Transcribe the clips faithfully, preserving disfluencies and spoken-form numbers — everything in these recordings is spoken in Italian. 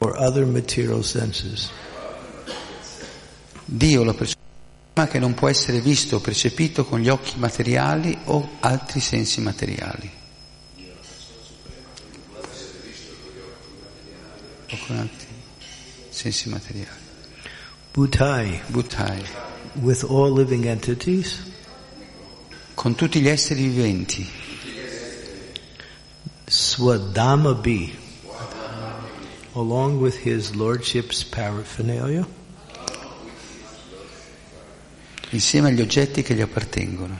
or other material senses. Dio lo percepisce che non può essere visto o percepito con gli occhi materiali o altri sensi materiali. O con altri sensi materiali. Bhutai. Bhutai. With all living entities. Con tutti gli esseri viventi. Swadhamabhi. Along with his lordship's paraphernalia. Insieme agli oggetti che gli appartengono.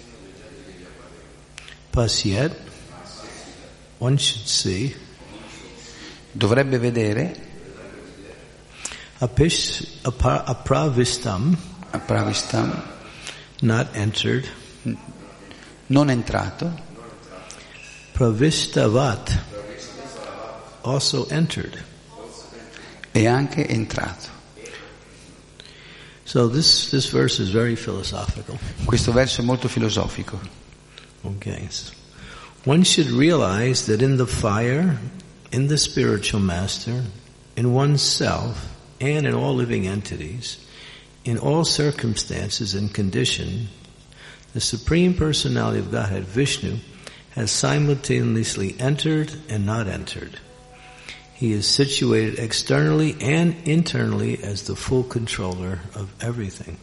Pasyat, one should see, dovrebbe vedere, apish, apra, apravistam, apravistam, not entered, non entrato, pravistavat, also entered, e anche entrato. So this, this verse is very philosophical. Questo verso è molto filosofico. Okay. One should realize that in the fire, in the spiritual master, in oneself, and in all living entities, in all circumstances and conditions, the Supreme Personality of Godhead, Vishnu, has simultaneously entered and not entered. He is situated externally and internally as the full controller of everything.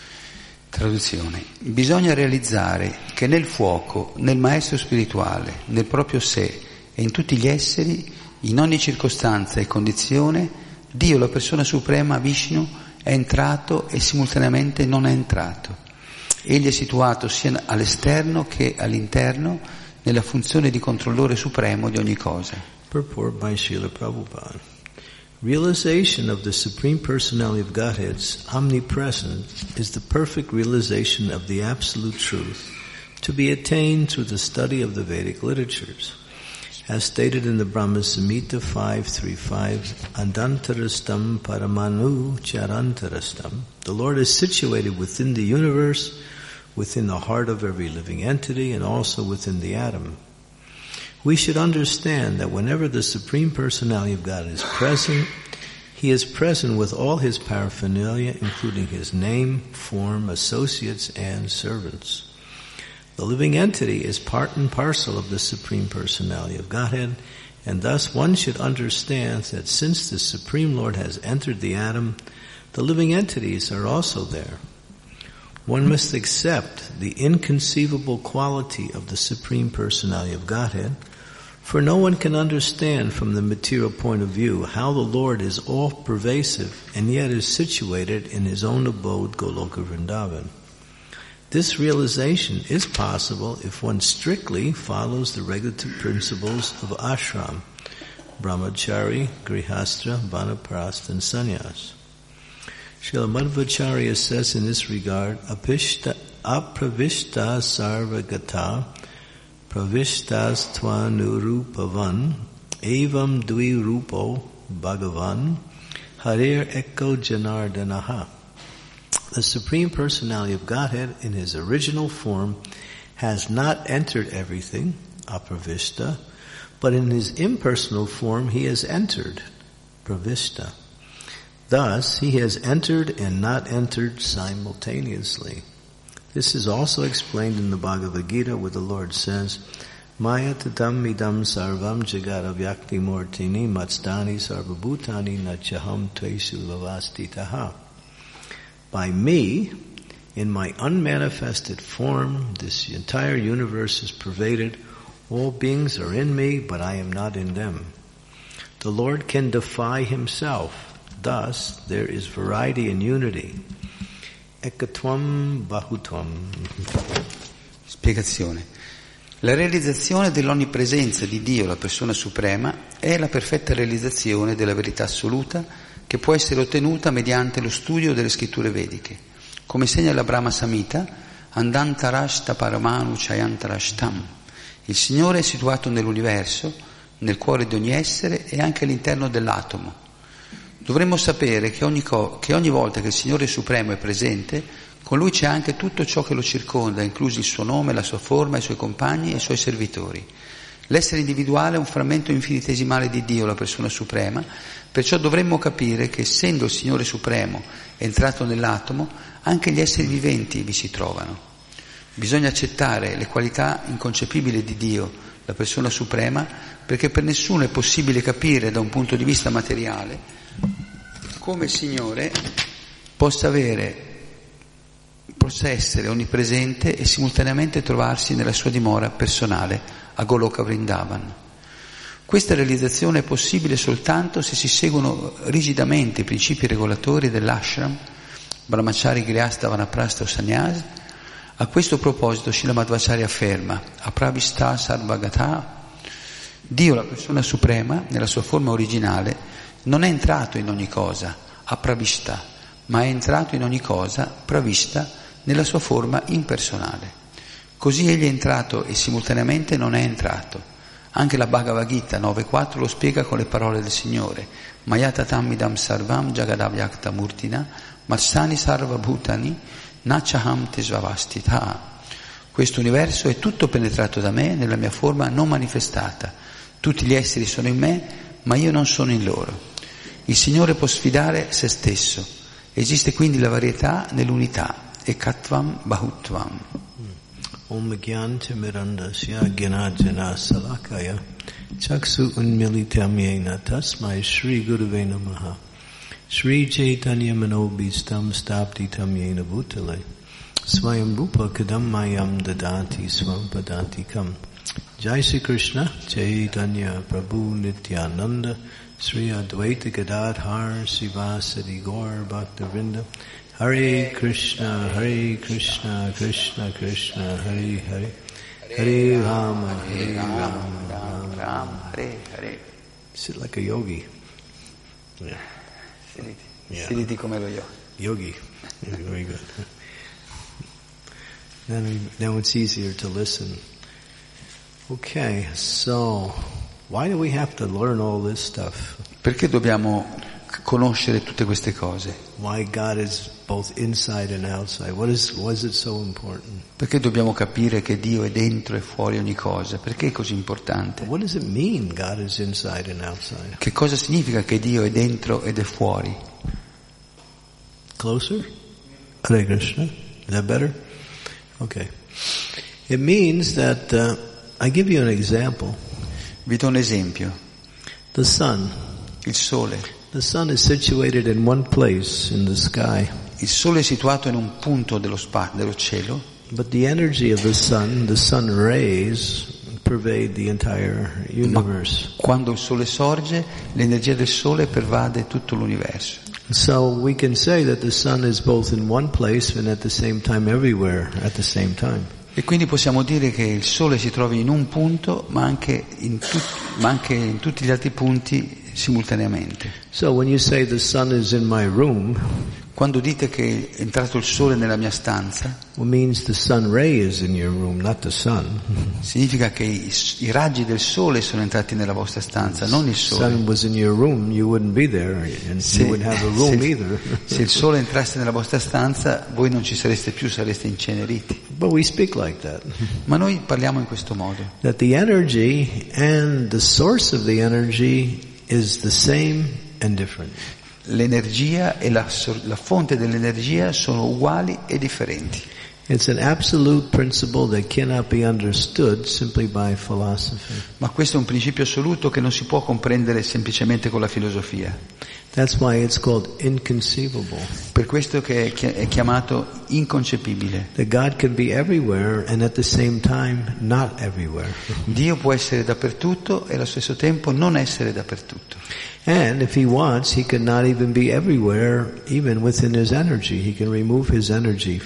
Traduzione. Bisogna realizzare che nel fuoco, nel maestro spirituale, nel proprio sé e in tutti gli esseri, in ogni circostanza e condizione, Dio, la persona suprema, Vishnu, è entrato e simultaneamente non è entrato. Egli è situato sia all'esterno che all'interno nella funzione di controllore supremo di ogni cosa. Purport by Srila Prabhupada. Realization of the Supreme Personality of Godhead's omnipresence is the perfect realization of the absolute truth to be attained through the study of the Vedic literatures. As stated in the Brahma Samhita five thirty-five, Andantarastam Paramanu Charantarastam, the Lord is situated within the universe, within the heart of every living entity, and also within the atom. We should understand that whenever the Supreme Personality of God is present, He is present with all His paraphernalia, including His name, form, associates, and servants. The living entity is part and parcel of the Supreme Personality of Godhead, and thus one should understand that since the Supreme Lord has entered the atom, the living entities are also there. One must accept the inconceivable quality of the Supreme Personality of Godhead, for no one can understand from the material point of view how the Lord is all-pervasive and yet is situated in His own abode, Goloka Vrindavan. This realization is possible if one strictly follows the regulative principles of ashram, brahmachari, grihastra, vanaprastha, and sannyas. Srila Madhvacharya says in this regard, apishta, apravishta sarvagata, pravistas tvanurupavan, evam dvirupo bhagavan, harir eko janardanaha. The Supreme Personality of Godhead in His original form has not entered everything, apravishta, but in His impersonal form He has entered, pravishta. Thus, He has entered and not entered simultaneously. This is also explained in the Bhagavad Gita where the Lord says, Maya tatam idam sarvam jagata vyakti mortini matstani sarvabhutani nachaham tvesu lavastitaha. By me, in my unmanifested form, this entire universe is pervaded. All beings are in me, but I am not in them. The Lord can defy Himself. Thus, there is variety in unity. Ekatvam bahutvam. Spiegazione. La realizzazione dell'onnipresenza di Dio, la persona suprema, è la perfetta realizzazione della verità assoluta che può essere ottenuta mediante lo studio delle scritture vediche. Come segna la Brahma Samhita, Andantarashta Paramanu Chayantarashtam. Il Signore è situato nell'universo, nel cuore di ogni essere e anche all'interno dell'atomo. Dovremmo sapere che ogni, co- che ogni volta che il Signore Supremo è presente, con Lui c'è anche tutto ciò che lo circonda, inclusi il suo nome, la sua forma, i suoi compagni e i suoi servitori. L'essere individuale è un frammento infinitesimale di Dio, la persona suprema, perciò dovremmo capire che essendo il Signore Supremo entrato nell'atomo, anche gli esseri viventi vi si trovano. Bisogna accettare le qualità inconcepibili di Dio, la persona suprema, perché per nessuno è possibile capire da un punto di vista materiale come il Signore possa avere, possa essere onnipresente e simultaneamente trovarsi nella sua dimora personale a Goloka Vrindavan. Questa realizzazione è possibile soltanto se si seguono rigidamente i principi regolatori dell'ashram, Brahmachari, Grihastha, Vanaprastha o Sannyas. A questo proposito Śrīla Madhvacharya afferma: Aprabhishta sarvagata, Dio, la persona suprema, nella sua forma originale, non è entrato in ogni cosa, aprabhishta, ma è entrato in ogni cosa, pravishta, nella sua forma impersonale. Così egli è entrato e simultaneamente non è entrato. Anche la Bhagavad Gita nove quattro lo spiega con le parole del Signore: Mayatatam idam sarvam jagadavyakta murtina marsani sarva bhutani nachaham tesvavastita. Questo universo è tutto penetrato da me nella mia forma non manifestata. Tutti gli esseri sono in me, ma io non sono in loro. Il Signore può sfidare se stesso. Esiste quindi la varietà nell'unità. Ekatvam bahutvam. Om Gyanti Mirandasya Gyanajana Salakaya Chaksu Unmilitam Yena Tasmai Shri Gurave Namaha Shri Chaitanya Manobhistam Staptitam Yena Bhutale Swayam Rupa Kadammayam Dadati Swampadantikam. Jai Sri Krishna Chaitanya Prabhu Nityananda Sri Advaita Gadadhar Sivasadi Gaur Bhaktavinda Hare Krishna, Hare Krishna, Krishna Krishna, Hare Hare, Hare Rama, Hare Rama, Rama Rama, Hare Hare. Sit like a yogi. Yeah. Sediti, yeah. Sediti come lo yogi. Yogi. Yeah, very good. Then, now it's easier to listen. Okay, so why do we have to learn all this stuff? Perché dobbiamo conoscere tutte queste cose? Why God is both inside and outside? What is, why is it so important? Perché dobbiamo capire che Dio è dentro e fuori ogni cosa? Perché è così importante? What does it mean God is inside and outside? Che cosa significa che Dio è dentro ed è fuori? Closer? Hare Krishna. Is that better? Okay. It means that, uh, I give you an example. Vi do un esempio. The sun. Il sole. The sun is situated in one place in the sky. Il sole è situato in un punto dello spazio, dello cielo. But the energy of the sun, the sun rays, pervade the entire universe. Ma quando il sole sorge, l'energia del sole pervade tutto l'universo. So we can say that the sun is both in one place and at the same time everywhere at the same time. E quindi possiamo dire che il sole si trova in un punto, ma anche in, tut- ma anche in tutti gli altri punti simultaneamente. So when you say the sun is in my room, quando dite che è entrato il sole nella mia stanza, it means the sun ray is in your room, not the sun. Significa che i, i raggi del sole sono entrati nella vostra stanza, non il sole. Sun was in your room, you wouldn't be there, and se, you wouldn't have a room se, either. Se il sole entrasse nella vostra stanza, voi non ci sareste più, sareste inceneriti. But we speak like that. Ma noi parliamo in questo modo. That the energy and the source of the energy is the same and different. L'energia e la, la fonte dell'energia sono uguali e differenti. It's an absolute principle that cannot be understood simply by philosophy. Ma questo è un principio assoluto che non si può comprendere semplicemente con la filosofia. That's why it's called inconceivable. Per questo che è chiamato inconcepibile. That God can be everywhere and at the same time not everywhere. Dio può essere dappertutto e allo stesso tempo non essere dappertutto. And if he wants, he can not even be everywhere, even within his energy. He can remove his energy.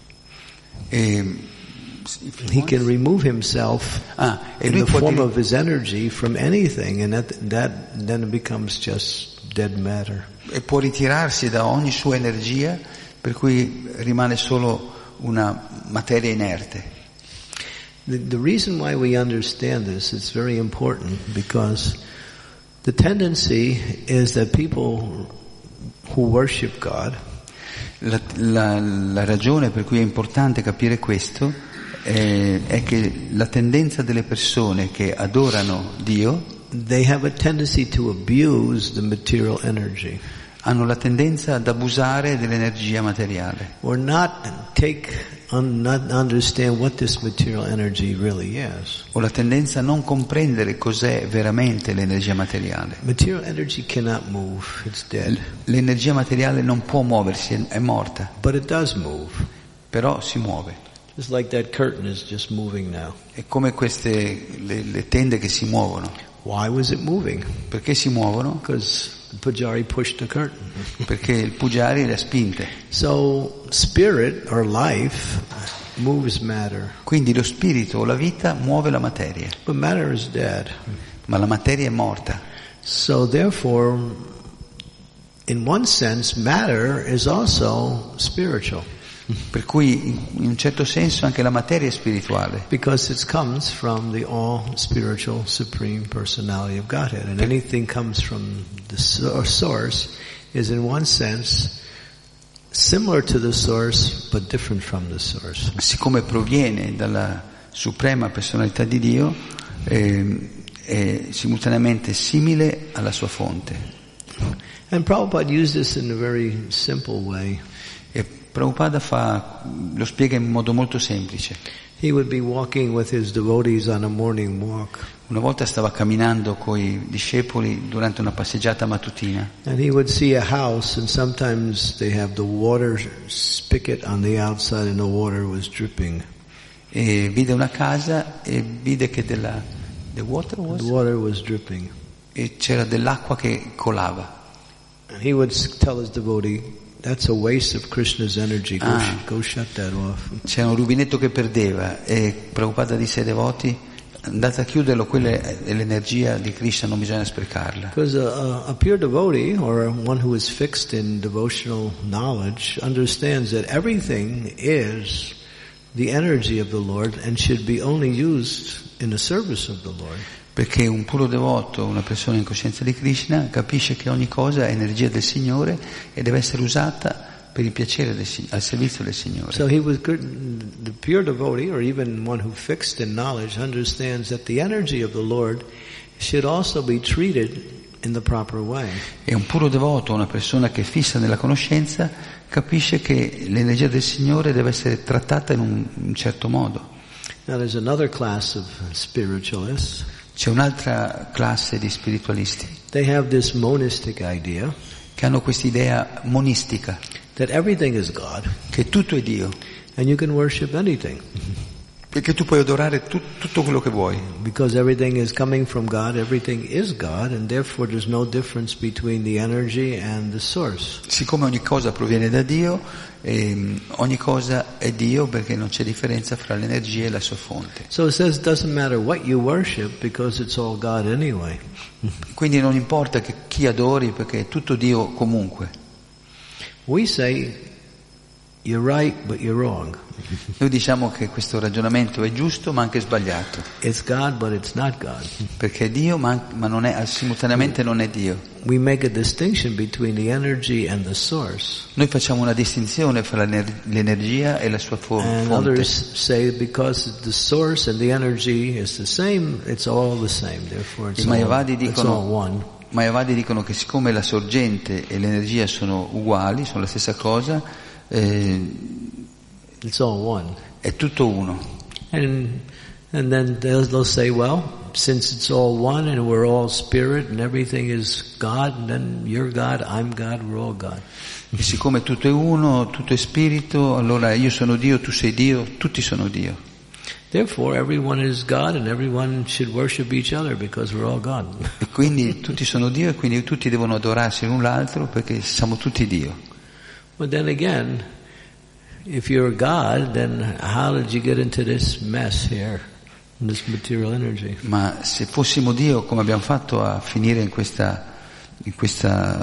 E, he can remove himself ah, in the form dire... of his energy from anything, and that, that then it becomes just dead matter. E può ritirarsi da ogni sua energia, per cui rimane solo una materia inerte. The, the reason why we understand this is very important, because the tendency is that people who worship God, la, la, la ragione per cui è importante capire questo eh, è che la tendenza delle persone che adorano Dio, they have a tendency to abuse the material energy. Hanno la tendenza ad abusare dell'energia materiale. Or not take, un, not understand what this material energy really is. O la tendenza a non comprendere cos'è veramente l'energia materiale. Material energy cannot move, it's dead. L'energia materiale non può muoversi, è, è morta. But it does move. Però si muove. Just like that curtain is just moving now. È come queste, le, le tende che si muovono. Why was it moving? Perché si muovono? Because the Pujari pushed the curtain. Perché il Pujari le ha spinte. So spirit or life moves matter. Quindi lo spirito o la vita muove la materia. But matter is dead. Ma la materia è morta. So therefore, in one sense, matter is also spiritual. Per cui in un certo senso anche la materia è spirituale. Because it comes from the all spiritual supreme personality of Godhead, and anything comes from the source is in one sense similar to the source but different from the source. Siccome proviene dalla suprema personalità di Dio, eh, è simultaneamente simile alla sua fonte. And Prabhupada used this in a very simple way. E Prabhupada fa, lo spiega in modo molto semplice. He would be walking with his devotees on a morning walk. Una volta stava camminando coi discepoli durante una passeggiata mattutina. And he would see a house, and sometimes they have the water spigot on the outside and the water was dripping. E vide una casa e vide che della the water was, the water was dripping. E c'era dell'acqua che colava. And he would tell his devotee, that's a waste of Krishna's energy. Go, Ah. sh- go shut that off. C'era un rubinetto che perdeva e Prabhupada disse ai devoti: andate a chiuderlo, quella è l'energia di Krishna, non bisogna sprecarla. Because a, a pure devotee, or one who is fixed in devotional knowledge, understands that everything is the energy of the Lord and should be only used in the service of the Lord. Perché un puro devoto, una persona in coscienza di Krishna, capisce che ogni cosa è energia del Signore e deve essere usata per il piacere del, al servizio del Signore. So he was good, the pure devotee, or even one who fixed in knowledge, understands that the energy of the Lord should also be treated in the proper way. E un puro devoto, una persona che è fissa nella conoscenza, capisce che l'energia del Signore deve essere trattata in un, in un certo modo. Now there's another class of spiritualists. C'è un'altra classe di spiritualisti They have this monistic idea che hanno quest'idea monistica, that everything is God che tutto è Dio, and you can worship anything perché tu puoi adorare tu, tutto quello che vuoi, because everything is coming from God, everything is God, and therefore there's no difference between the energy and the source. siccome ogni cosa proviene da Dio, e ogni cosa è Dio perché non c'è differenza fra l'energia e la sua fonte. So it says it doesn't matter what you worship because it's all God anyway. Quindi non importa che chi adori perché è tutto Dio comunque. We say you're right but you're wrong. Noi diciamo che questo ragionamento è giusto ma anche sbagliato, It's God but it's not God. perché è Dio ma, ma non è, simultaneamente non è Dio. We make a distinction between the energy and the source. Noi facciamo una distinzione fra l'ener- l'energia e la sua fo- And fonte. others say because the source and the energy is the same, it's all the same. Therefore it's I all, Mayavadi it's all dicono, one. Mayavadi dicono che siccome la sorgente e l'energia sono uguali, sono la stessa cosa, eh, It's all one. è tutto uno. And and then they'll, they'll say, well, since it's all one and we're all spirit and everything is God, then you're God, I'm God, we're all God. E siccome tutto è uno, tutto è spirito, allora io sono Dio, tu sei Dio, tutti sono Dio. Therefore, everyone is God and everyone should worship each other because we're all God. E quindi tutti sono Dio e quindi tutti devono adorarsi l'un l'altro perché siamo tutti Dio. But then again, if you're God, then how did you get into this mess here, in this material energy? Ma se fossimo Dio, come abbiamo fatto a finire in questa, in questa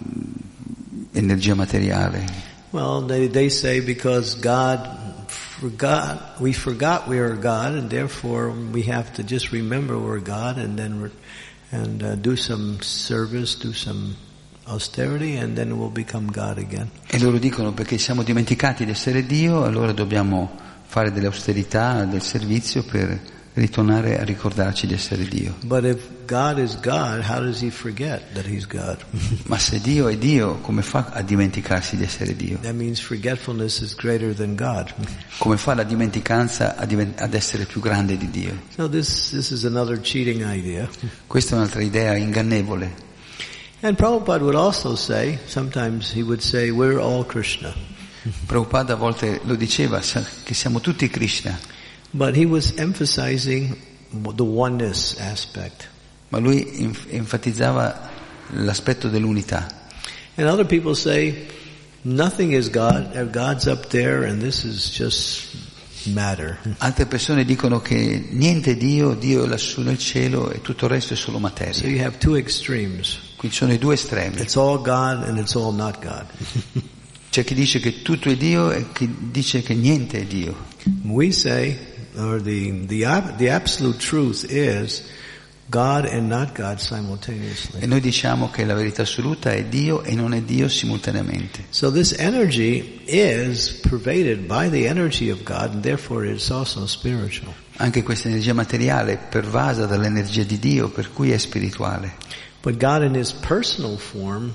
um, energia materiale? Well, they, they say because God forgot, we forgot we were God, and therefore we have to just remember we're God, and then we're, and uh, do some service, do some austerity, and then we'll become God again. E loro dicono perché siamo dimenticati di essere Dio, allora dobbiamo fare delle austerità del servizio per ritornare a ricordarci di essere Dio. But if God is God, how does he forget that he's God? Ma se Dio è Dio, come fa a dimenticarsi di essere Dio? That means forgetfulness is greater than God. Come fa la dimenticanza ad essere più grande di Dio? So this, this is another cheating idea. Questa è un'altra idea ingannevole. And Prabhupada would also say, sometimes he would say, we're all Krishna. Prabhupada a volte lo diceva, che siamo tutti Krishna. But he was emphasizing the oneness aspect. Ma lui enfatizzava l'aspetto dell'unità. And other people say, nothing is God, God's up there and this is just matter. Altre persone dicono che niente è Dio, Dio è lassù nel cielo e tutto il resto è solo materia. So you have two extremes. Qui ci sono i due estremi. It's all God and it's all not God. C'è chi dice che tutto è Dio e chi dice che niente è Dio. We say, or the, the, the absolute truth is God and not God simultaneously. E noi diciamo che la verità assoluta è Dio e non è Dio simultaneamente. So this energy is pervaded by the energy of God and therefore it's also spiritual. Anche questa energia materiale è pervasa dall'energia di Dio, per cui è spirituale. But God in his personal form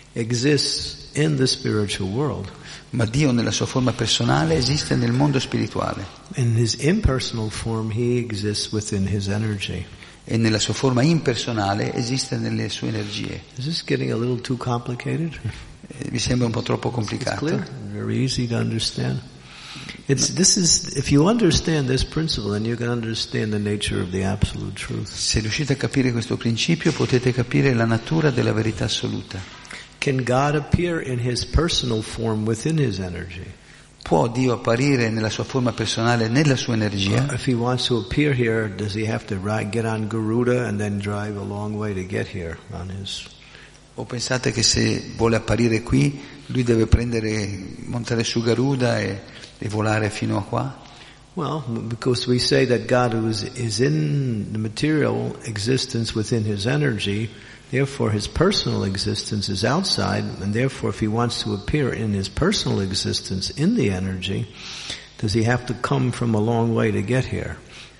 exists in the spiritual world. Ma Dio nella sua forma personale esiste nel mondo spirituale. In his impersonal form he exists within his energy. E nella sua forma impersonale esiste nelle sue energie. Is this getting a little too complicated? Eh, vi sembra un po' troppo It's complicato? clear, very easy to understand. It's, this is, if you understand this principle, then you can understand the nature of the absolute truth. Se riuscite a capire questo principio, potete capire la natura della verità assoluta. Can God appear in his personal form within his energy? Può Dio apparire nella sua forma personale, nella sua energia? If he wants to appear here, does he have to ride, get on Garuda and then drive a long way to get here on his? O pensate che se vuole apparire qui, lui deve prendere, montare su Garuda e, e volare fino a qua? Well, because we say that God is, is in the material existence within his energy, therefore his personal existence is outside, and therefore if he wants to appear in his personal existence in the energy, does he have to come from a long way to get here?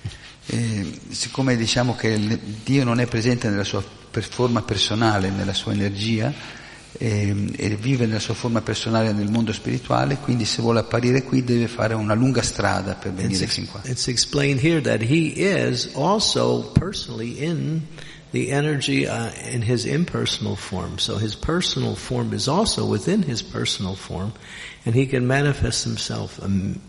E siccome diciamo che Dio non è presente nella sua per forma personale, nella sua energia, e, e vive nella sua forma personale nel mondo spirituale, quindi se vuole apparire qui deve fare una lunga strada per venire It's, fin qua. it's explained here that he is also personally in the energy uh, in his impersonal form. So his personal form is also within his personal form, and he can manifest himself um,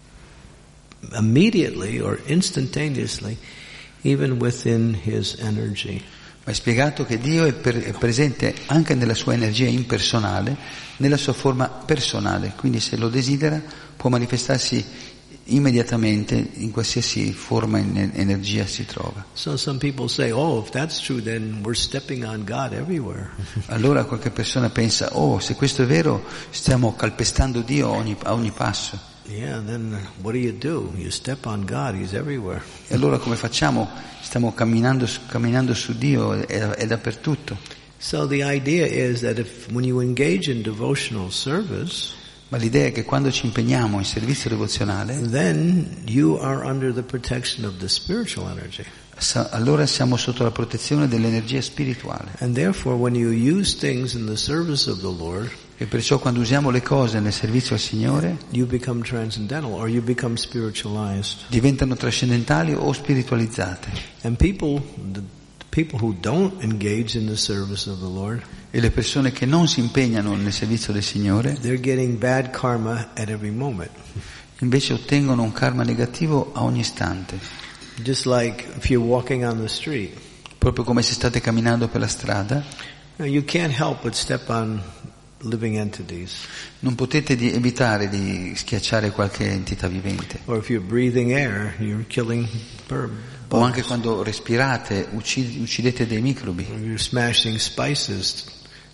immediately or instantaneously even within his energy. Ma è spiegato che Dio è, per, è presente anche nella sua energia impersonale, nella sua forma personale, quindi se lo desidera può manifestarsi immediatamente in qualsiasi forma in energia si trova. So some people say, oh, if that's true, then we're stepping on God everywhere. Allora qualche persona pensa, oh, se questo è vero, stiamo calpestando Dio ogni, a ogni passo. Yeah, then what do you do? You step on God, he's everywhere. E allora come facciamo? Stiamo camminando, camminando su Dio, è, è dappertutto. So the idea is that if when you engage in devotional service, ma l'idea è che quando ci impegniamo in servizio devozionale, then you are under the protection of the spiritual energy. allora siamo sotto la protezione dell'energia spirituale. And therefore when you use things in the service of the Lord, e perciò quando usiamo le cose nel servizio al Signore, you become transcendental or you become spiritualized. Diventano trascendentali o spiritualizzate. And people, the people who don't engage in the service of the Lord, e le persone che non si impegnano nel servizio del Signore, they're getting bad karma at every moment. invece ottengono un karma negativo a ogni istante. Just like if you're walking on the street. Proprio come se state camminando per la strada, you can't help but step on living entities. Non potete di evitare di schiacciare qualche entità vivente. Or if you're breathing air, you're killing birds. O anche quando respirate, uccid- uccidete dei microbi. Or you're smashing spices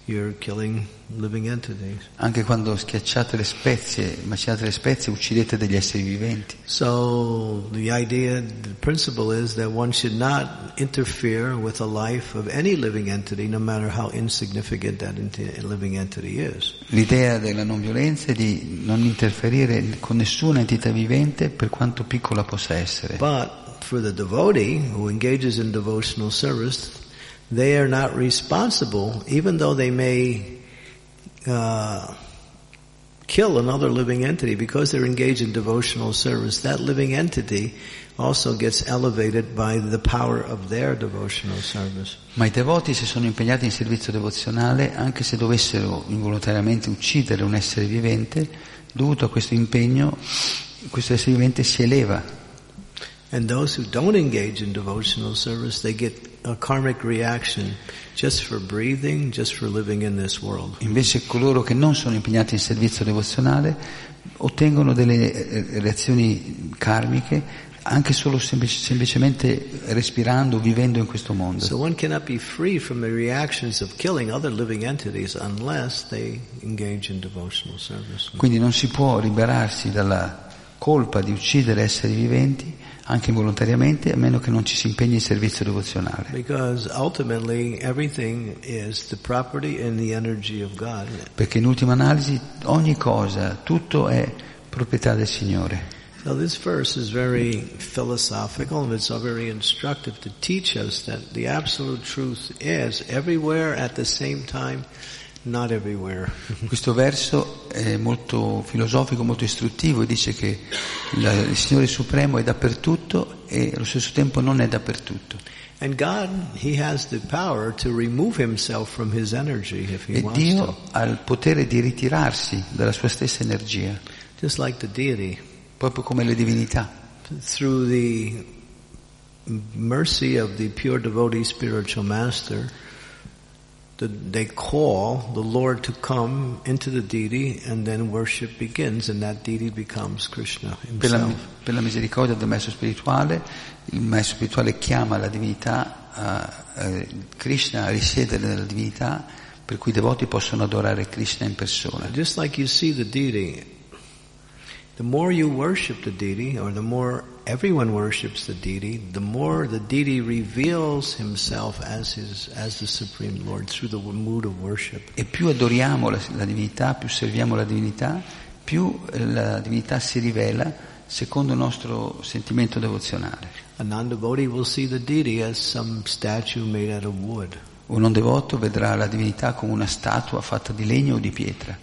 you're killing living entities. Anche quando schiacciate le spezie, macinate le spezie, uccidete degli esseri viventi. So the idea, the principle is that one should not interfere with the life of any living entity, no matter how insignificant that enti- living entity is. L'idea della non violenza è di non interferire con nessuna entità vivente, per quanto piccola possa essere. But for the devotee who engages in devotional service, they are not responsible, even though they may uh, kill another living entity, because they're engaged in devotional service. That living entity also gets elevated by the power of their devotional service. Ma i devoti, se sono impegnati in servizio devozionale, anche se dovessero involontariamente uccidere un essere vivente, dovuto a questo impegno, questo essere vivente si eleva. And those who don't engage in devotional service, they get a karmic reaction just for breathing, just for living in this world. Invece coloro che non sono impegnati in servizio devozionale ottengono delle reazioni karmiche anche solo semplic- semplicemente respirando, vivendo in questo mondo. So one cannot be free from the reactions of killing other living entities unless they engage in devotional service. Quindi non si può liberarsi dalla colpa di uccidere esseri viventi anche involontariamente, a meno che non ci si impegni in servizio devozionale. Because ultimately everything is the property and the energy of God. Perché in ultima analisi ogni cosa, tutto è proprietà del Signore. So this verse is very philosophical and it's very instructive to teach us that the absolute truth is everywhere at the same time, not everywhere. Questo verso è molto filosofico, molto istruttivo e dice che la, il Signore Supremo è dappertutto e allo stesso tempo non è dappertutto. And God, He has the power to remove Himself from His energy if He E wants Dio to. ha il potere di ritirarsi dalla sua stessa energia, Just like the deity. proprio come le divinità. Through the mercy of the pure devotee spiritual master, the, they call the Lord to come into the deity and then worship begins and that deity becomes Krishna Per la, himself. per la misericordia del maestro spirituale, il maestro spirituale chiama la divinità, a, a Krishna a risiedere nella divinità, per cui i devoti possono adorare Krishna in persona. Just like you see the deity, the more you worship the deity, or the more everyone worships the deity, the more the deity reveals himself as his, as the Supreme Lord through the mood of worship. E più adoriamo la, la divinità, più serviamo la divinità, più la divinità si rivela secondo il nostro sentimento devozionale. A non-devotee will see the deity as some statue made out of wood. Un non devoto vedrà la divinità come una statua fatta di legno o di pietra.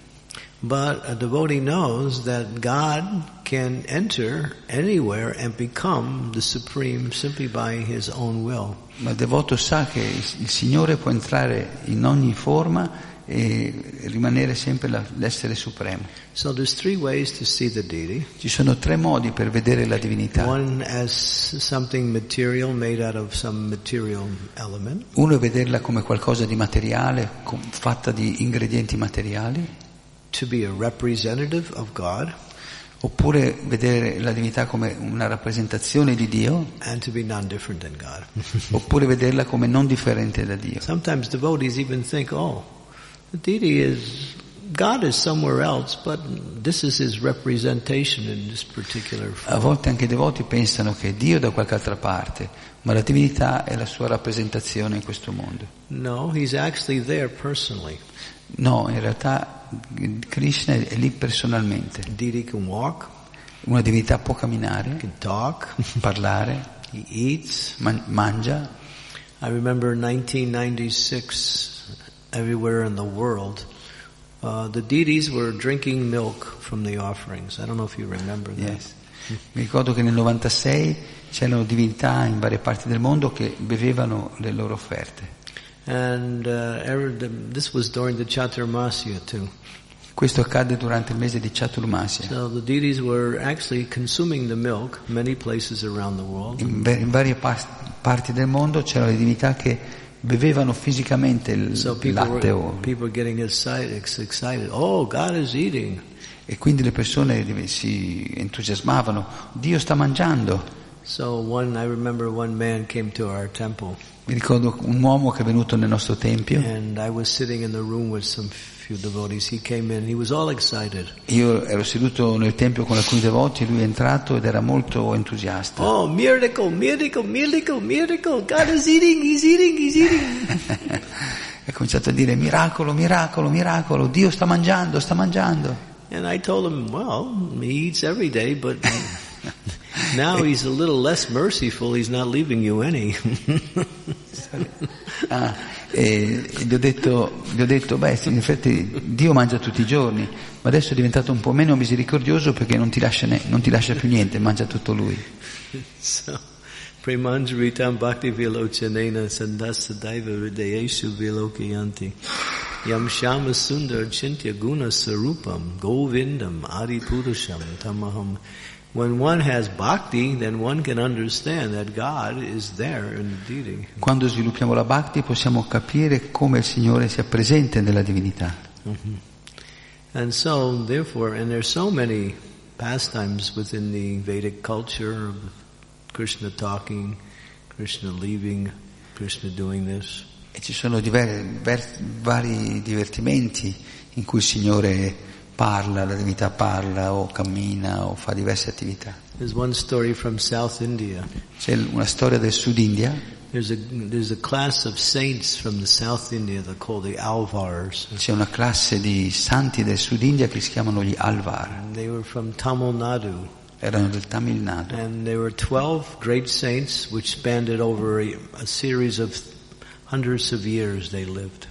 But a devotee knows that God can enter anywhere and become the Supreme simply by His own will. Ma il devoto sa che il Signore può entrare in ogni forma e rimanere sempre la, l'essere supremo. So there's three ways to see the deity. Ci sono tre modi per vedere la divinità. One as something material made out of some material element. Uno è vederla come qualcosa di materiale, com- fatta di ingredienti materiali. To be a representative of God. Oppure vedere la divinità come una rappresentazione di Dio. And to be non-different than God. Oppure vederla come non differente da Dio. Sometimes devotees even think, oh, the deity is, God is somewhere else, but this is His representation in this particular form. A volte anche i devoti pensano che Dio è da qualche altra parte, ma la divinità è la sua rappresentazione in questo mondo. No, He's actually there personally. No, in realtà Krishna è lì personalmente. Deity can walk. Una divinità può camminare, Can talk. parlare, He eats. man- mangia. I remember in nineteen ninety-six, everywhere in the world, uh, the deities were drinking milk from the offerings. I don't know if you remember that. Yes. Mi ricordo che nel novantasei c'erano divinità in varie parti del mondo che bevevano le loro offerte. And uh, every, the, this was during the Chaturmasya too. Questo accadde durante il mese di Chaturmasya. So the deities were actually consuming the milk many places around the world. In, in varie par- parti del mondo c'erano le divinità che bevevano fisicamente il, So il people latte were, o, people were getting excited, excited. Oh, God is eating. e quindi le persone si entusiasmavano. Dio sta mangiando. So one, I remember one man came to our temple. Mi ricordo un uomo che è venuto nel nostro tempio. And I was sitting in the room with some few devotees. He came in, he was all excited. Io ero seduto nel tempio con alcuni devoti, lui è entrato ed era molto entusiasta. Oh, miracle, miracle, miracle, miracle. God is eating, he's eating, he's eating. Ha cominciato a dire miracolo, miracolo, miracolo, Dio sta mangiando, sta mangiando. And I told him, well, he eats every day, but now he's a little less merciful, he's not leaving you any. ah, e gli ho detto, gli ho detto, beh, in effetti Dio mangia tutti i giorni, ma adesso è diventato un po' meno misericordioso perché non ti lascia, ne, non ti lascia più niente, mangia tutto lui. So, Premanjaritam Bhakti Vilochanena Sandasa Daiva Hridayeshu Vilokayanti Yam Shama Sundar Chintya Guna Sarupam Govindam Adi Purusham Tamaham. When one has bhakti, then one can understand that God is there in the deity. Quando sviluppiamo la bhakti possiamo capire come il Signore sia presente nella divinità. Mm-hmm. And so, therefore, and there's so many pastimes within the Vedic culture of Krishna talking, Krishna leaving, Krishna doing this. E ci sono diver, ver, vari divertimenti in cui il Signore parla, la divinità parla o cammina o fa diverse attività. There's one story from South India. C'è una storia del Sud India. There's a there's a class of saints from the South India that called the Alvars. C'è una classe di santi del Sud India che si chiamano gli Alvar. And they were from Tamil Nadu. Erano del Tamil Nadu. And there were twelve great saints which spanned it over a, a series of hundreds of years they lived.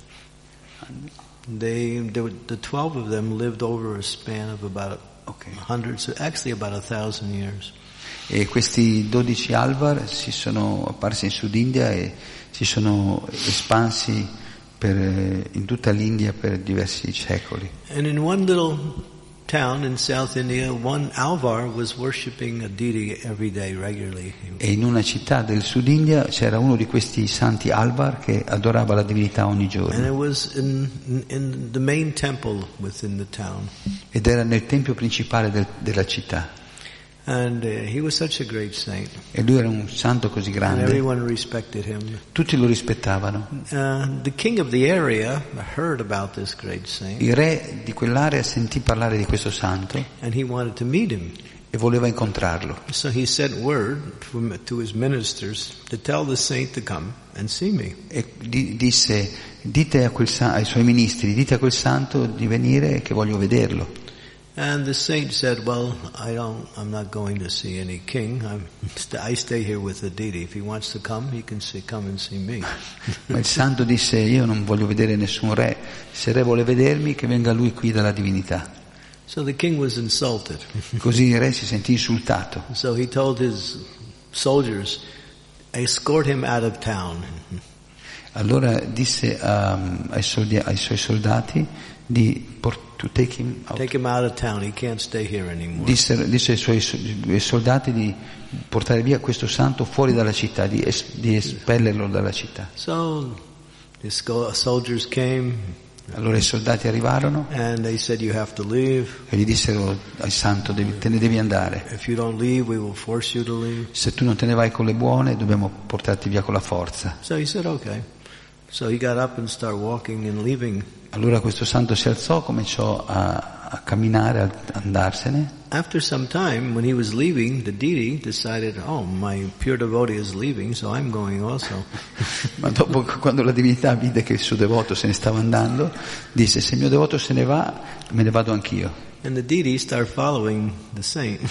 They, they were, the twelve of them lived over a span of about okay. hundreds, actually about a thousand years. E questi dodici Alvar si sono apparsi in Sud India e si sono espansi per, in tutta l'India per diversi secoli. And in one little town in South India, one Alvar was worshipping a deity every day regularly. E in una città del Sud India c'era uno di questi santi Alvar che adorava la divinità ogni giorno. And it was in, in the main temple within the town. Ed era nel tempio principale del, della città. And uh, he was such a great saint. E lui era un santo così grande. And everyone respected him. Tutti lo rispettavano. Uh, the king of the area heard about this great saint. Il re di quell'area sentì parlare di questo santo. And he wanted to meet him. E voleva incontrarlo. So he sent word from, to his ministers to tell the saint to come and see me. E di, disse, dite a quel, ai suoi ministri, dite a quel santo di venire che voglio vederlo. And the saint said, well, I don't, I'm not going to see any king. I'm, I stay here with the deity. If he wants to come, he can see, come and see me. Ma il santo disse, io non voglio vedere nessun re. Se il re vuole vedermi, che venga lui qui dalla divinità. So the king was insulted. Così il re si sentì insultato. So he told his soldiers, escort him out of town. Allora disse um, ai, soldi, ai suoi soldati di portare to take him out. Take him out of town. He can't stay here anymore. Disse, disse ai suoi soldati di portare via questo santo fuori dalla città, di, es, di espellerlo dalla città. So the soldiers came. Allora i soldati arrivarono. And they said, you have to leave. E gli dissero al santo, devi, te ne devi andare. If you don't leave, we will force you to leave. Se tu non te ne vai con le buone, dobbiamo portarti via con la forza. So he said, okay. So he got up and started walking and leaving. Allora questo santo si alzò, cominciò a, a camminare, a andarsene. After some time, when he was leaving, the deity decided, oh, my pure devotee is leaving, so I'm going also. Ma dopo, quando la divinità vide che il suo devoto se ne stava andando, disse, se il mio devoto se ne va, me ne vado anch'io. And the deity started following the saint.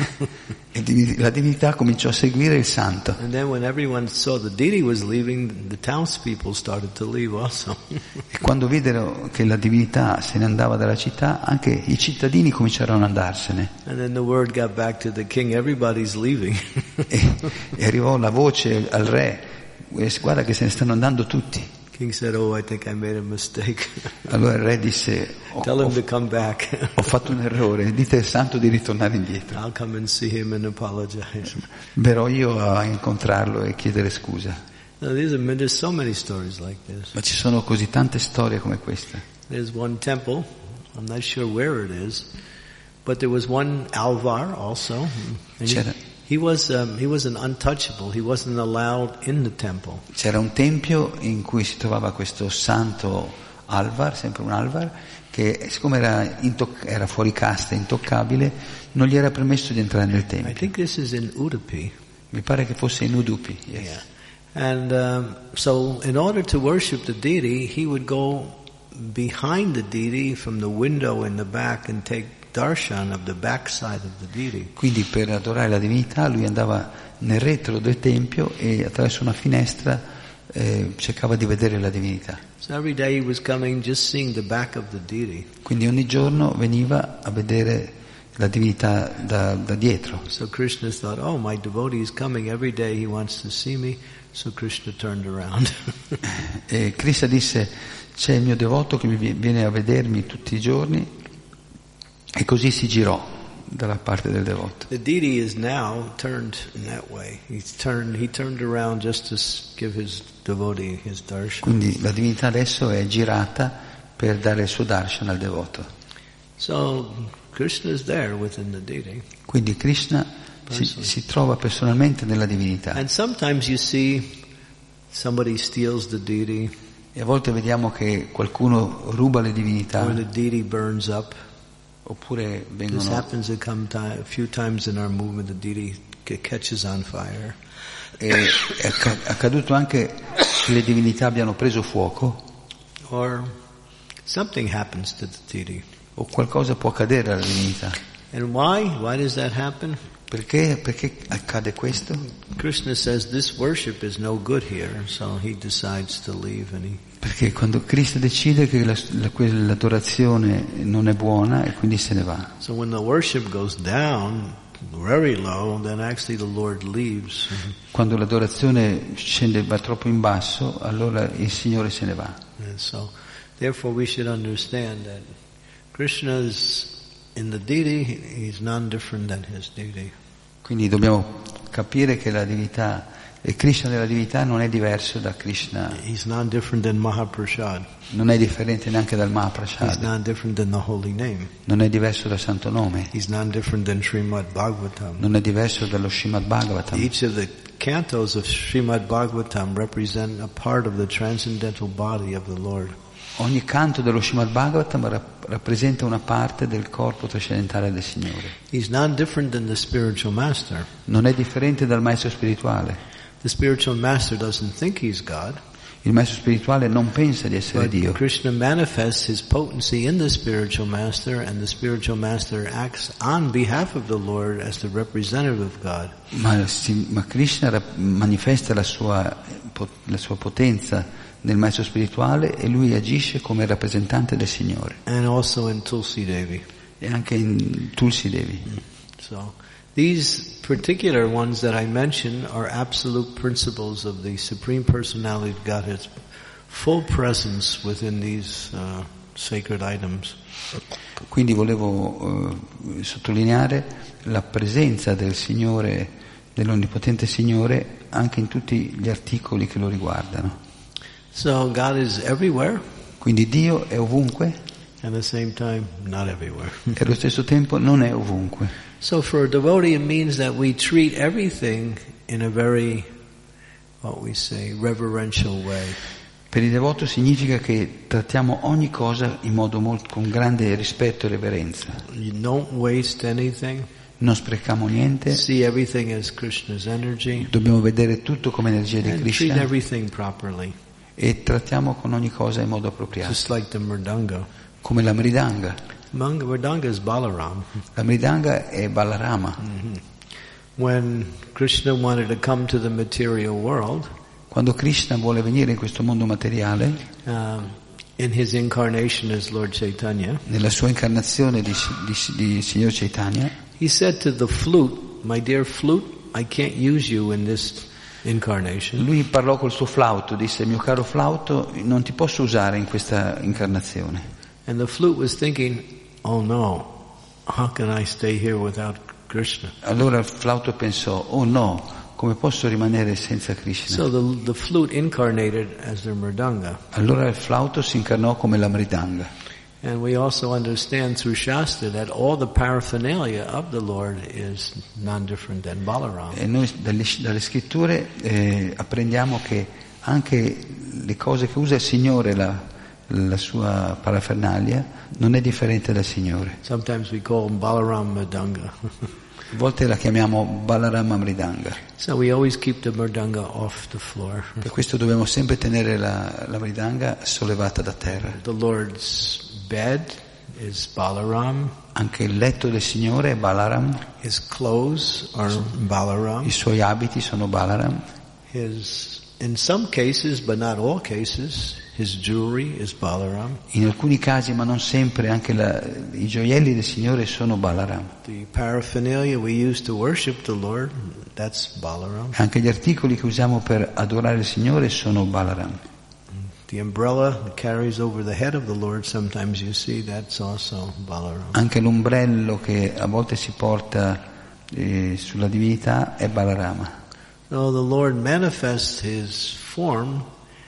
E la divinità cominciò a seguire il santo. And then when everyone saw the deity was leaving, the townspeople started to leave also. E quando videro che la divinità se ne andava dalla città, anche i cittadini cominciarono ad andarsene. And then the word got back to the king, everybody's leaving. e, e arrivò la voce al re, guarda che se ne stanno andando tutti. King said, oh, I think I made a mistake. Allora il re disse, oh, tell him to come back. ho fatto un errore, dite al santo di ritornare indietro. I'll come and see him and apologize. Verrò io a incontrarlo e chiedere scusa. Now, there's, a, there's so many stories like this. Ma ci sono così tante storie come questa. There's one temple, I'm not sure where it is, but there was one Alvar also. And C'era, he, He was um, he was an untouchable. He wasn't allowed in the temple. C'era un tempio in cui si trovava questo santo Alvar, sempre un Alvar, che siccome era, intoc- era fuori casta, intoccabile, non gli era permesso di entrare nel I tempio. think this is in Udupi. Mi pare che fosse in Udupi. Yes. Yeah. And um, so in order to worship the deity, he would go behind the deity from the window in the back and take darshan of the backside of the deity. Quindi per adorare la divinità lui andava nel retro del tempio e attraverso una finestra eh, cercava di vedere la divinità. So every day he was coming just seeing the back of the deity. Quindi ogni giorno veniva a vedere la divinità da, da dietro. So Krishna thought, oh, my devotee is coming every day, he wants to see me. So Krishna turned around. E Krishna disse, c'è il mio devoto che mi viene a vedermi tutti i giorni, e così si girò dalla parte del devoto. The deity is now turned in that way. He's turned, he turned around just to give his devotee his darshan. Quindi la divinità adesso è girata per dare il suo darshan al devoto. So Krishna is there within the deity. Quindi Krishna si, si trova personalmente nella divinità. And sometimes you see somebody steals the deity, E a volte vediamo che qualcuno ruba le divinità, or the deity burns up. oppure This vengono... happens a, come time, a few times in our movement. The deity ca- catches on fire. E è acc- accaduto anche che le divinità abbiano preso fuoco, Or something happens to the deity. o qualcosa può accadere alla divinità. And why? Why does that happen? Perché? Perché accade questo? Krishna says this worship is no good here, so he decides to leave and he... Perché quando Cristo decide che la, la, quell'adorazione non è buona e quindi se ne va. So when the worship goes down very low, then actually the Lord leaves. Quando l'adorazione scende, va troppo in basso, allora il Signore se ne va. And so, therefore we should understand that Krishna is in the deity, he's none different than his deity. Quindi dobbiamo capire che la divinità, il Krishna della divinità non è diverso da Krishna, He's none different than Mahaprasad. non è differente neanche dal He's Mahaprasad, none different than the holy name. non è diverso dal Santo Nome, He's none different than Srimad Bhagavatam. non è diverso dallo Srimad Bhagavatam. Each of the cantos of Srimad Bhagavatam represent a part of the transcendental body of the Lord. Ogni canto dello Srimad Bhagavatam rap- rappresenta una parte del corpo trascendentale del Signore. He's none different than the spiritual master. Non è differente dal maestro spirituale. The spiritual master doesn't think he's God, Il maestro spirituale non pensa di essere but Dio, Krishna manifests his potency in the spiritual master, and the spiritual master acts on behalf of the Lord as the representative of God. ma, si- ma Krishna rap- manifesta la sua, po- la sua potenza nel maestro spirituale e lui agisce come rappresentante del Signore. And also in Tulsi Devi. E anche in Tulsi Devi. So, these particular ones that I mentioned are absolute principles of the Supreme Personality of Godhead's full presence within these uh, sacred items. Quindi volevo eh, sottolineare la presenza del Signore, dell'Onnipotente Signore, anche in tutti gli articoli che lo riguardano. So God is everywhere, Quindi Dio è ovunque and at the same time, not everywhere. e allo stesso tempo non è ovunque. So for a devotee, it means that we treat everything in a very, what we say, reverential way. Per il devoto significa che trattiamo ogni cosa in modo molto, con grande rispetto e reverenza. You don't waste anything. Non sprechiamo niente, See everything as Krishna's energy, dobbiamo vedere tutto come energia di and treat Krishna everything properly, e trattiamo con ogni cosa in modo appropriato. just like the mridanga. Come la Mridanga. Mang- Mridanga is Balaram. La Mridanga è Balarama. When Krishna wanted to come to the material world, Quando Krishna vuole venire in questo mondo materiale, um, in his incarnation as Lord Chaitanya, nella sua incarnazione di, di, di Signor Chaitanya, he said to the flute, "My dear flute, I can't use you in this incarnation." lui parlò col suo flauto, disse: mio caro flauto, non ti posso usare in questa incarnazione. And the flute was thinking, "Oh no, how can I stay here without Krishna?" Allora il flauto pensò: oh no, come posso rimanere senza Krishna? So the, the flute incarnated as the mridanga. Allora il flauto si incarnò come la Mridanga. And we also understand through Shastra that all the paraphernalia of the Lord is non different than Balaram. E noi dalle, dalle scritture eh, apprendiamo che anche le cose che usa il Signore, la, la sua parafernalia, non è differente dal Signore. Sometimes we call him Balaram Mridanga. A volte la chiamiamo Balarama Mridanga. So we always keep the Mridanga off the floor. Per questo dobbiamo sempre tenere la, la Mridanga sollevata da terra. The Lord's bed is Balaram. Anche il letto del Signore è Balaram. His clothes are Balaram. I suoi abiti sono Balaram. His, in some cases, but not all cases, his jewelry is Balaram. In alcuni casi, ma non sempre, anche la, i gioielli del Signore sono Balaram. The paraphernalia we use to worship the Lord, that's Balaram. Anche gli articoli che usiamo per adorare il Signore sono Balaram. The umbrella that carries over the head of the Lord, sometimes you see, that's also Balaram. Anche l'ombrello che a volte si porta eh, sulla divinità è Balarama. So the Lord manifests his form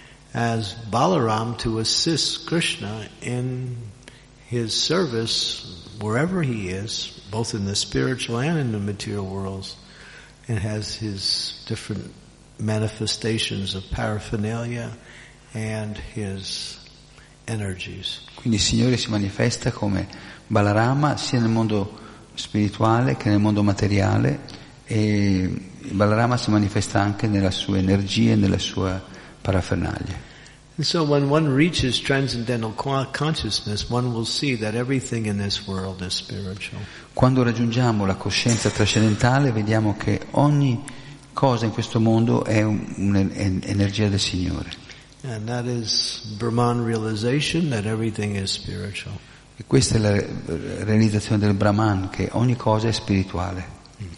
as Balaram to assist Krishna in his service wherever he is, both in the spiritual and in the material worlds, and has his different manifestations of paraphernalia and his energies. Quindi il Signore si manifesta come Balarama sia nel mondo spirituale che nel mondo materiale, e Balarama si manifesta anche nella sua energia e nella sua parafernalia. And so when one reaches transcendental consciousness, one will see that everything in this world is spiritual. Quando raggiungiamo la coscienza trascendentale, vediamo che ogni cosa in questo mondo è un'energia del Signore. And that is Brahman realization that everything is spiritual. E questa è la realizzazione del Brahman, che ogni cosa è spirituale.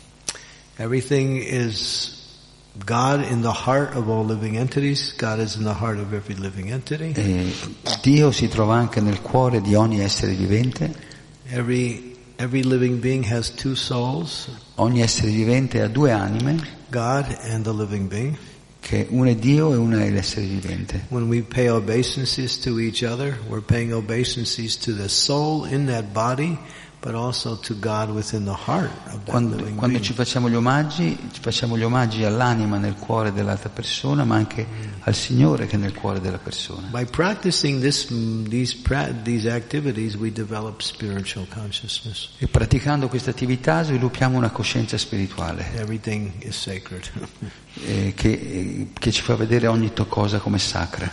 Everything is God in the heart of all living entities. God is in the heart of every living entity. E Dio si trova anche nel cuore di ogni essere vivente. Every every living being has two souls. Ogni essere vivente ha due anime. God and the living being. Che una è Dio e una è l'essere vivente. When we pay obeisances to each other, we're paying obeisances to the soul in that body, but also to God within the heart of that Quando, living quando being. ci facciamo gli omaggi, ci facciamo gli omaggi all'anima nel cuore dell'altra persona, ma anche al Signore che è nel cuore della persona. By practicing this, these these activities, we develop spiritual consciousness. E praticando queste attività sviluppiamo una coscienza spirituale Everything is sacred. eh, che, eh, che ci fa vedere ogni to- cosa come sacra.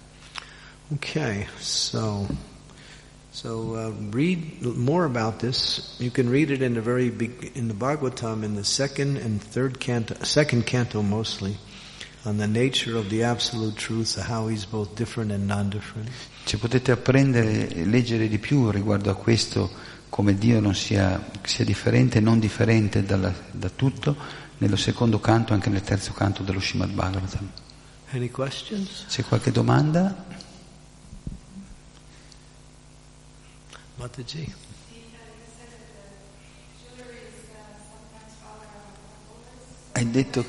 Okay, so so uh, read more about this. You can read it in the very big, in the Bhagavatam in the second and third canto, second canto mostly, on the nature of the absolute truth, how he's both different and non-different. Ci potete apprendere e leggere di più riguardo a questo, come Dio non sia, sia differente e non differente dalla, da tutto, nello secondo canto e anche nel terzo canto dello Srimad Bhagavatam. Any questions? C'è qualche domanda? Mataji? Hai detto,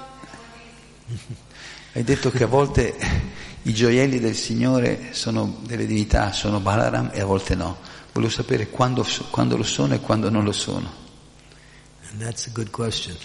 hai detto che a volte i gioielli del Signore sono delle divinità, sono Balaram, e a volte no. Volevo sapere quando, quando lo sono e quando non lo sono. And that's a good question.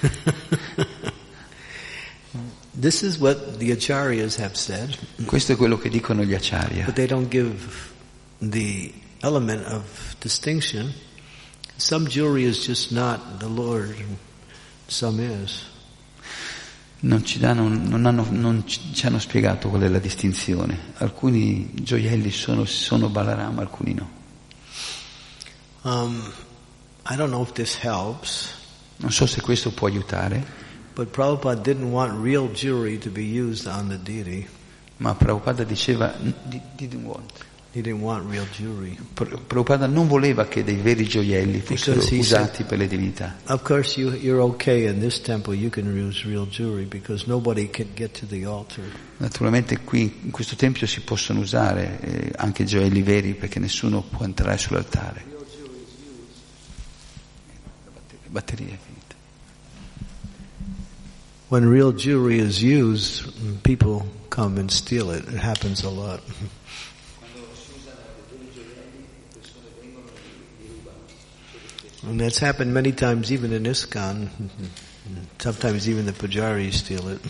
This is what the acharyas have said. Questo è quello che dicono gli acharya. But they don't give the element of distinction. Some jewelry is just not the Lord, some is. Non ci danno, non hanno, non ci hanno spiegato qual è la distinzione. Alcuni gioielli sono, sono Balaram, alcuni no. Um, I don't know if this helps. Non so se questo può aiutare, But Prabhupada didn't want real jewelry to be used on the deity. ma Prabhupada diceva, didn't want. He didn't want real jewelry. Prabhupada non voleva che dei veri gioielli fossero usati said, per le divinità. Of course, you, you're okay in this temple. You can use real jewelry because nobody can get to the altar. Naturalmente qui in questo tempio si possono usare eh, anche gioielli veri perché nessuno può entrare sull'altare. La batteria è finita. When real jewelry is used, people come and steal it. It happens a lot. And that's happened many times even in ISKCON. Sometimes even the pujaris steal it.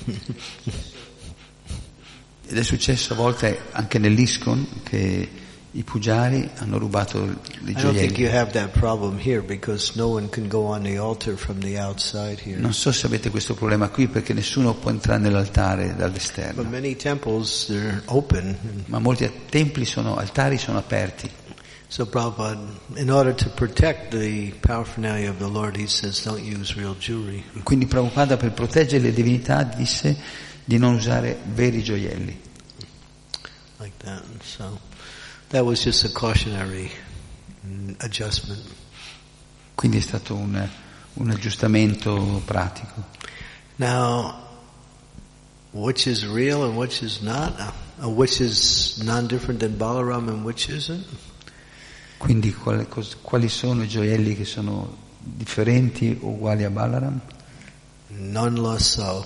Ed è successo a volte anche nell'ISKCON che i pujari hanno rubato le I don't think you gioielli. have that problem here because no one can go on the altar from the outside here. Non so se avete questo problema qui perché nessuno può entrare nell'altare But dall'esterno. many temples, they're open. Ma molti templi sono, altari sono aperti. So Prabhupada, in order to protect the paraphernalia of the Lord, he says don't use real jewelry. Quindi Prabhupada, per proteggere le divinità, disse di non usare veri gioielli. Like that. So that was just a cautionary adjustment. Quindi è stato un, un aggiustamento pratico. Now, which is real and which is not? Uh, which is non-different than Balaram and which isn't? Quindi quali, quali sono i gioielli che sono differenti o uguali a Balaram? None lo so.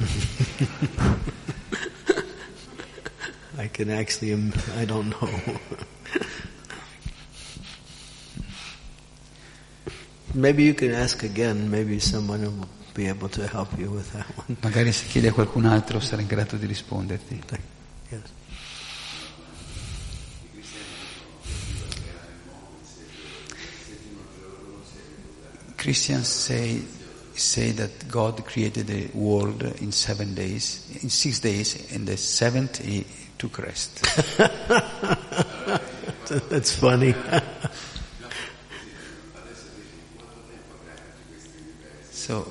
I can actually, I don't know. Maybe you can ask again, maybe someone will be able to help you with that one. Magari se chiedi a qualcun altro sarà in grado di risponderti. Yes. Christians say say that God created the world in seven days, in six days, and the seventh he took rest. That's funny. So,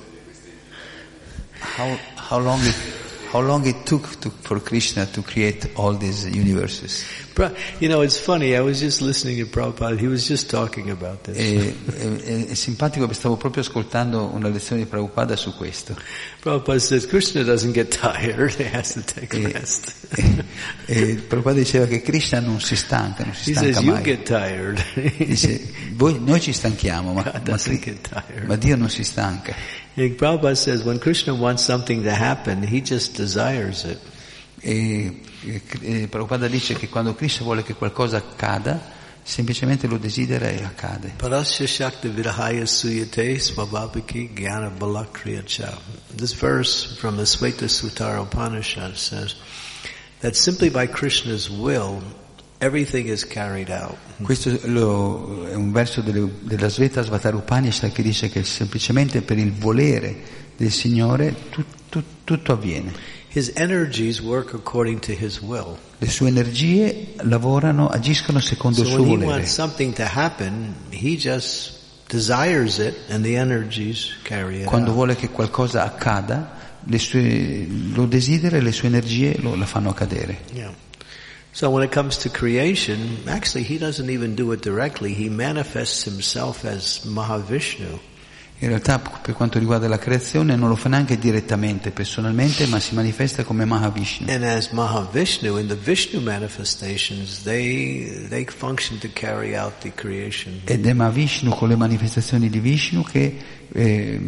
how how long it how long it took to, for Krishna to create all these universes? You know, it's funny. I was just listening to Prabhupada. He was just talking about this. È, è, è simpatico perché stavo proprio ascoltando una lezione di Prabhupada su questo. Prabhupada says Krishna doesn't get tired; he has to take E, rest. e, e Prabhupada diceva che Krishna non si stanca, non si He stanca says you mai. get tired. Dice, voi, noi ci stanchiamo, ma, God ma, doesn't get tired. ma Dio non si stanca. And Prabhupada says when Krishna wants something to happen, he just desires it. E, e, e Prabhupada dice che quando Krishna vuole che qualcosa accada, semplicemente lo desidera e accade. Parasya Shakti Vidahaya Suyate Svabhaviki Jnana Balakriya Cha. This verse from the Sveta Sutara Upanishad says that simply by Krishna's will, everything is carried out. Questo lo, è un verso delle, della Sveta Svatara Upanishad che dice che semplicemente per il volere del Signore tu, tu, tutto avviene. His energies work according to his will. Le sue energie lavorano, agiscono secondo So il suo when he volere. wants something to happen, he just desires it and the energies carry it Quando out. vuole che qualcosa accada, le sue, lo desidera e le sue energie lo, la fanno accadere. Yeah. So when it comes to creation, actually he doesn't even do it directly. He manifests himself as Mahavishnu. In realtà per quanto riguarda la creazione non lo fa neanche direttamente, personalmente, ma si manifesta come Mahavishnu. And as Mahavishnu, in the Vishnu manifestations, they they function to carry out the creation. Ed è Mahavishnu con le manifestazioni di Vishnu che eh,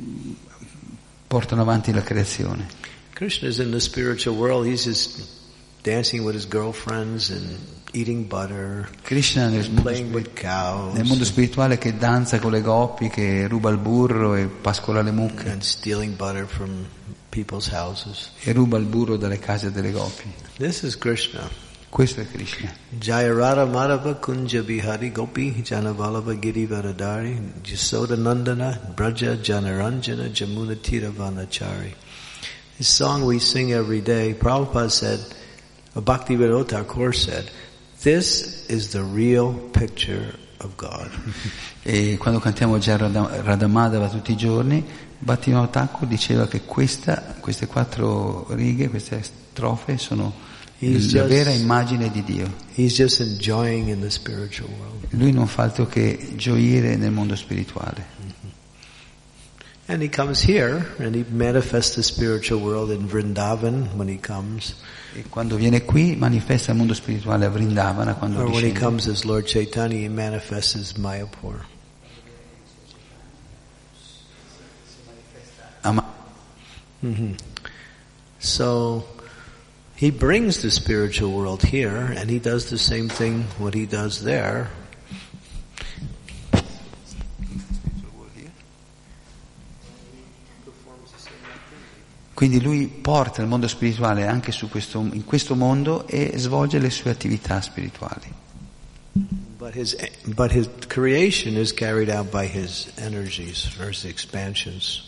portano avanti la creazione. Krishna is in the spiritual world. He's just dancing with his girlfriends and eating butter, Krishna nel mondo, playing with cows, nel mondo spirituale che danza con le gopi, che ruba il burro e pascola le mucche and stealing butter from people's houses. e ruba il burro dalle case delle gopi. This is Krishna. Questo è Krishna. Jaya Radha Madhava Kunja Bihari Gopi Janavalava Girivaradari Jasoda Nandana Braja Janaranjana Jamuna Tiravanachari. This song we sing every day. Prabhupada said, Bhakti Vinod Thakur said, this is the real picture of God. E quando cantiamo già Radha, Radha Madhava tutti i giorni, Bhaktivinoda Thakur diceva che questa, queste quattro righe, queste strofe sono He's la just- vera immagine di Dio. He's just enjoying in the spiritual world. Lui non fa altro che gioire nel mondo spirituale. And he comes here and he manifests the spiritual world in Vrindavan when he comes. E quando viene qui manifesta il mondo spirituale a Vrindavana, quando Or when he discende. comes as Lord Chaitanya, he manifests as Mayapur. Ah, ma- hmm So he brings the spiritual world here, and he does the same thing what he does there. Quindi lui porta il mondo spirituale anche su questo, in questo mondo e svolge le sue attività spirituali. But his, but his creation is carried out by his energies, or his expansions.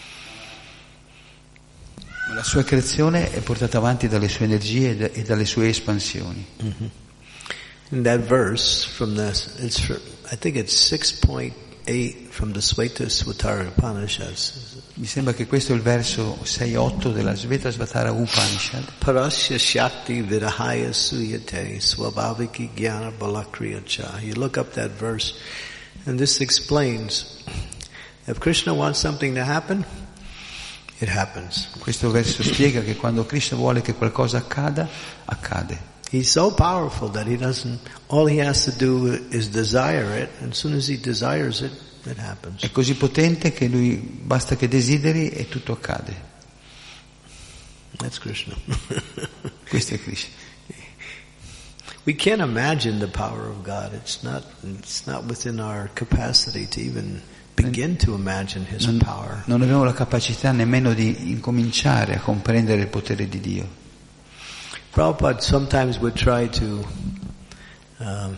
La sua creazione è portata avanti dalle sue energie e dalle sue espansioni. Mm-hmm. In that verse, from the, it's, I think it's six point eight from the Svetasvatara Upanishads. Mi sembra che questo è il verso sei otto della Svetasvatara Upanishad. Parasya Shakti Vidahaya Suyate Swabhaviki Jnana Balakriya Cha. You look up that verse, and this explains, if Krishna wants something to happen, it happens. Questo verso spiega che quando Krishna vuole che qualcosa accada, accade. He's so powerful that he doesn't, all he has to do is desire it, and as soon as he desires it, it happens. È così potente che lui basta che desideri e tutto accade. That's Krishna. Questo è Krishna. We can't imagine the power of God. It's not, it's not within our capacity to even begin to imagine His non, power. Non abbiamo la capacità nemmeno di incominciare a comprendere il potere di Dio. Prabhupada sometimes would try to, um,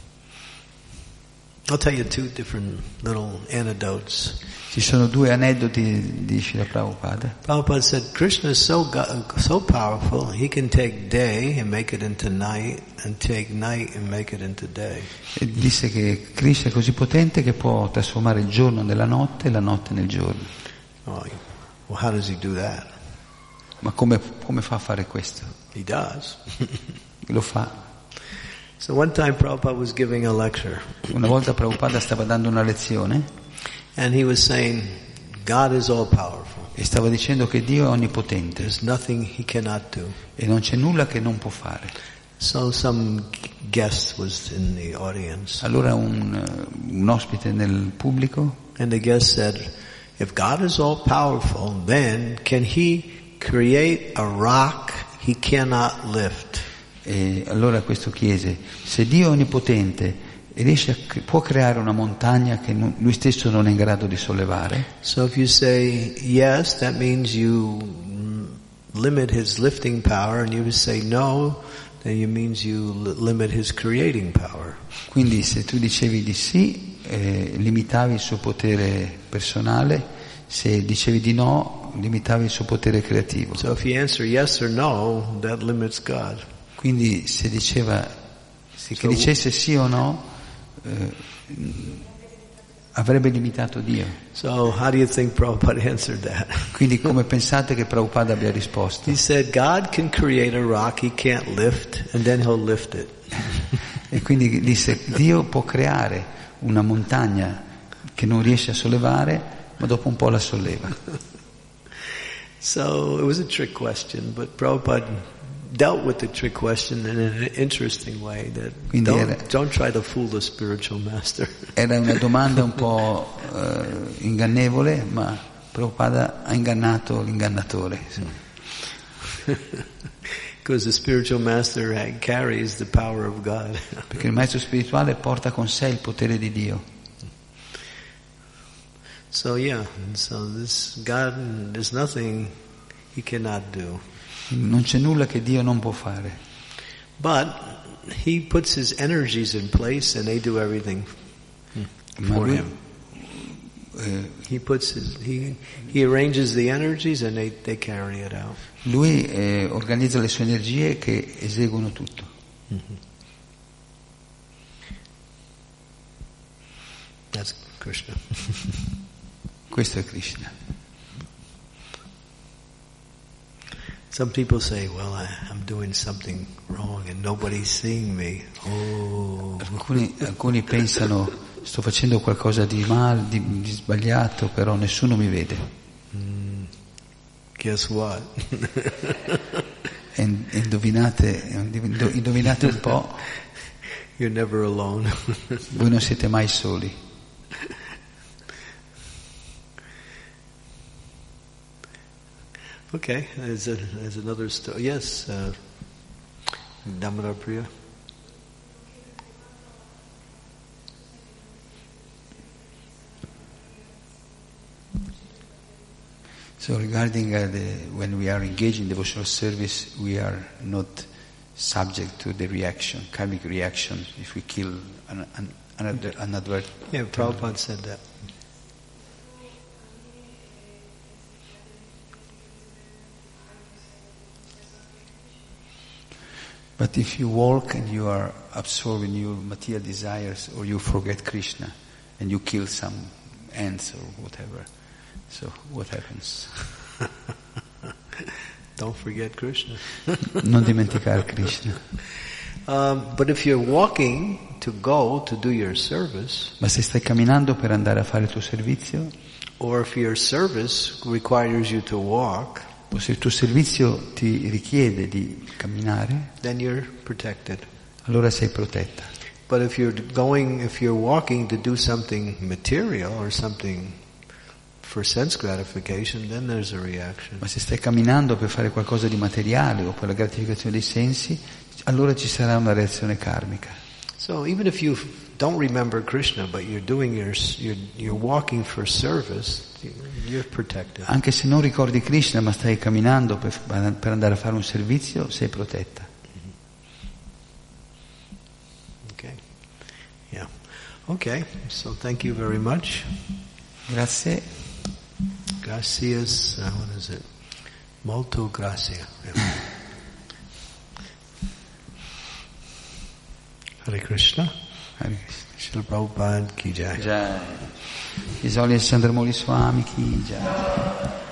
I'll tell you two different little anecdotes. Ci sono due aneddoti di Srila Prabhupada. Prabhupada said, Krishna is so, so powerful, he can take day and make it into night, and take night and make it into day. E disse che Krishna è così potente che può trasformare il giorno nella notte e la notte nel giorno. Oh, well, how does he do that? Ma come, come fa a fare questo? He does. Lo fa. So one time Prabhupada was giving a lecture. Una volta Prabhupada stava dando una lezione. And he was saying, God is all powerful. E stava dicendo che Dio è onnipotente. There's nothing he cannot do. E non c'è nulla che non può fare. So some guest was in the audience. Allora un, un ospite nel pubblico. And the guest said, if God is all powerful, then can he create a rock he cannot lift? E allora questo chiese, se Dio è onnipotente e riesce a, può creare una montagna che lui stesso non è in grado di sollevare? So if you say yes, that means you limit his lifting power, and you say no, then it means you limit his creating power. Quindi se tu dicevi di sì, eh, limitavi il suo potere personale, se dicevi di no, limitavi il suo potere creativo. So if you answer yes or no, that limits God. Quindi se diceva, se so, che dicesse sì o no, eh, avrebbe limitato Dio. So how do you think Prabhupada answered that? Quindi come pensate che Prabhupada abbia risposto? He said, God can create a rock he can't lift, and then he'll lift it. E quindi disse, Dio può creare una montagna che non riesce a sollevare, ma dopo un po' la solleva. So it was a trick question, but Prabhupada dealt with the trick question in an interesting way, that don't, era, don't try to fool the spiritual master. Era una domanda un po' uh, ingannevole, ma Prabhupada ha ingannato l'ingannatore. Because the spiritual master carries the power of God. Perché il maestro spirituale porta con sé il potere di Dio. So yeah, so this God, there's nothing he cannot do. Non c'è nulla che Dio non può fare. But he puts his energies in place and they do everything for lui, him. Eh, he puts his, he, he arranges the energies and they, they carry it out. Lui eh, organizza le sue energie che eseguono tutto. Mm-hmm. That's Krishna. Questo è Krishna. Some people say, well, I, I'm doing something wrong and nobody's seeing me. Oh. Alcuni, alcuni pensano, sto facendo qualcosa di male, di, di sbagliato, però nessuno mi vede. Mm, guess what? E, e indovinate, indovinate un po'. You're never alone. Voi non siete mai soli. Okay, there's, a, there's another story. Yes, uh, Damodar Priya. So regarding uh, the, when we are engaged in devotional service, we are not subject to the reaction, karmic reaction, if we kill an, an, another, another. Yeah, Prabhupada said that. But if you walk and you are absorbed in your material desires, or you forget Krishna, and you kill some ants or whatever, so what happens? Don't forget Krishna. Non dimenticare Krishna. Um, but if you're walking to go to do your service, ma se stai camminando per andare a fare il tuo servizio, or if your service requires you to walk, o se il tuo servizio ti richiede di camminare, then you're protected. Allora sei protetta. But if you're going, if you're walking to do something material or something for sense gratification, then there's a reaction. Ma se stai camminando per fare qualcosa di materiale o per la gratificazione dei sensi, allora ci sarà una reazione karmica. So even if you don't remember Krishna, but you're doing your, you're, you're walking for service, you're protected. Anche se non ricordi Krishna, ma stai camminando per, per andare a fare un servizio, sei protetta. Okay. Yeah. Okay. So thank you very much. Grazie. Gracias. Uh, what is it? Molto gracia. Yeah. Hare Krishna. Hare Krishna. Srila Prabhupada ki jai. Jai. His Holiness Chandramauli Swami ki jai.